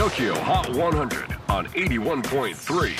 TOKYO HOT 100 on 81.3 J-WAVE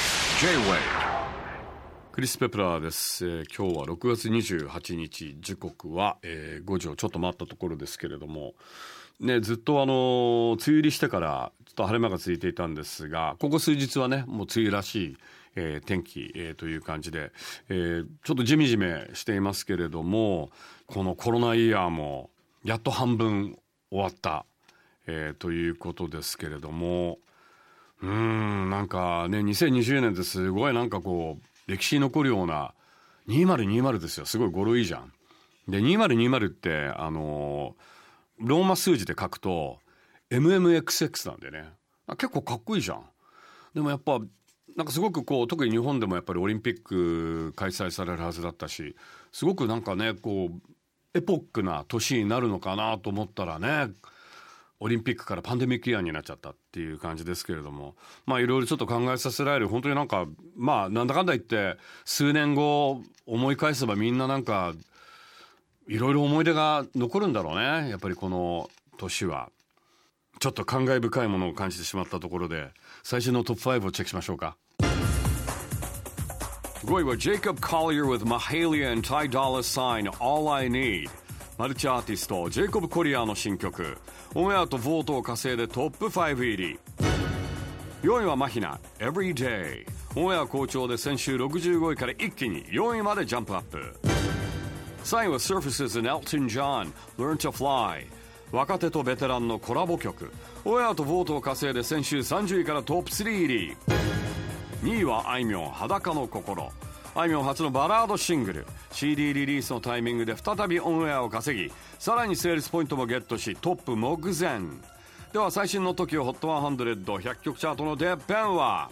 クリス・ペプラーです、今日は6月28日時刻は、5時をちょっと待ったところですけれども、ね、ずっと梅雨入りしてからちょっと晴れ間がついていたんですが、ここ数日はねもう梅雨らしい天気、という感じで、ちょっとジメジメしていますけれども、このコロナイヤーもやっと半分終わった、ということですけれども、なんかね2020年ってすごいなんかこう歴史に残るような2020ですよ。すごい語呂いいじゃん。で2020ってローマ数字で書くと MMXX なんでね、結構かっこいいじゃん。でもやっぱなんかすごくこう特に日本でもやっぱりオリンピック開催されるはずだったし、すごくなんかねこうエポックな年になるのかなと思ったらね、オリンピックからパンデミックイヤーになっちゃったっていう感じですけれども、まあいろいろちょっと考えさせられる、本当になんかまあなんだかんだ言って数年後思い返せばみんななんかいろいろ思い出が残るんだろうね。やっぱりこの年はちょっと感慨深いものを感じてしまったところで、最新のトップ5をチェックしましょうか。5位は Jacob Collier with Mahalia and Ty Dolla $ign All I Need。 マルチアーティストジェイコブ・コリアーの新曲、オンエアとボートを稼いでトップ5入り。4位はマヒナ Everyday。 オンエア好調で先週65位から一気に4位までジャンプアップ。3位は Surfaces and Elton John Learn to Fly。 若手とベテランのコラボ曲、オンエアとボートを稼いで先週30位からトップ3入り。2位はあいみょん裸の心。あいみょん初のバラードシングル CD リリースのタイミングで再びオンエアを稼ぎ、さらにセールスポイントもゲットしトップ目前。では最新の TOKYO HOT 100曲チャートのてっぺんは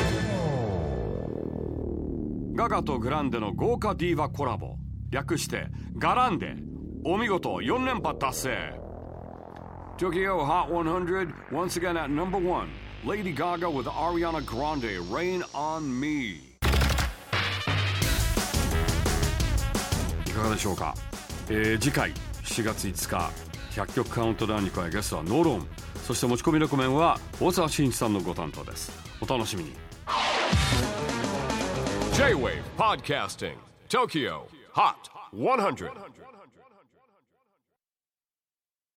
ガガとグランデの豪華ディーバコラボ、略してガランデ。お見事4連覇達成。 TOKYO HOT 100 once again at number 1 Lady Gaga with Ariana Grande Rain on Me。 いかがでしょうか。次回7月5日100曲カウントダウンに加えゲストはノーロン、そして持ち込みレコメンは大沢慎一さんのご担当です。お楽しみに。 J-WAVE PODCASTING TOKYO HOT 100